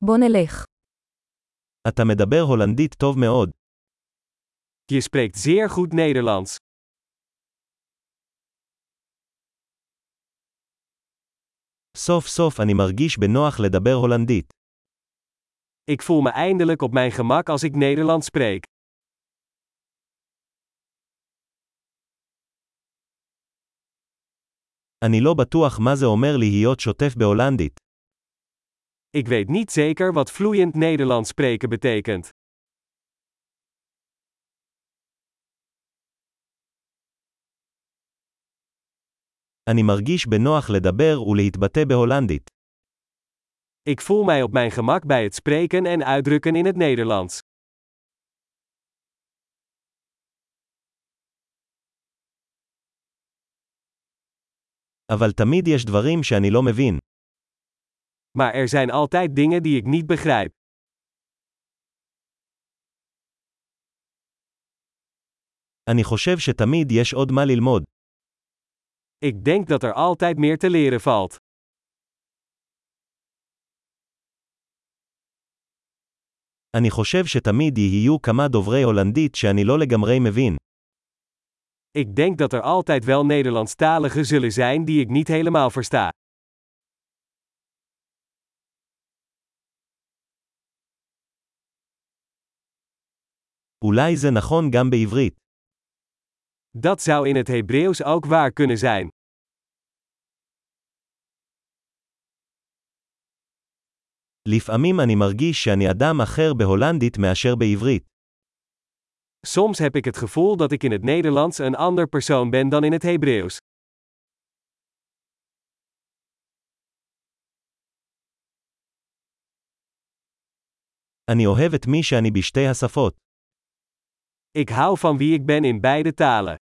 בוא נלך. אתה מדבר הולנדית טוב מאוד. Je spreekt zeer goed Nederlands. סוף סוף אני מרגיש בנוח לדבר הולנדית. Ik voel me eindelijk op mijn gemak als ik Nederlands spreek. אני לא בטוח מה זה אומר להיות שוטף בהולנדית. Ik weet niet zeker wat vloeiend Nederlands spreken betekent. אני מרגיש בנוח לדבר ולהתבטא בהולנדית. Ik voel mij op mijn gemak bij het spreken en uitdrukken in het Nederlands. אבל תמיד יש דברים שאני לא מבין. Maar er zijn altijd dingen die ik niet begrijp. אני חושב שתמיד יש עוד מה ללמוד. Ik denk dat er altijd meer te leren valt. אני חושב שתמיד יהיו כמה דוברי הולנדית שאני לא לגמרי מבין. Ik denk dat er altijd wel Nederlandstaligen zullen zijn die ik niet helemaal versta. אולי זה נכון גם בעברית. Dat zou in het Hebreeuws ook waar kunnen zijn. לפעמים אני מרגיש שאני אדם אחר בהולנדית מאשר בעברית. Soms heb ik het gevoel dat ik in het Nederlands een ander persoon ben dan in het Hebreeuws. אני אוהב את מי שאני בשתי השפות. Ik hou van wie ik ben in beide talen.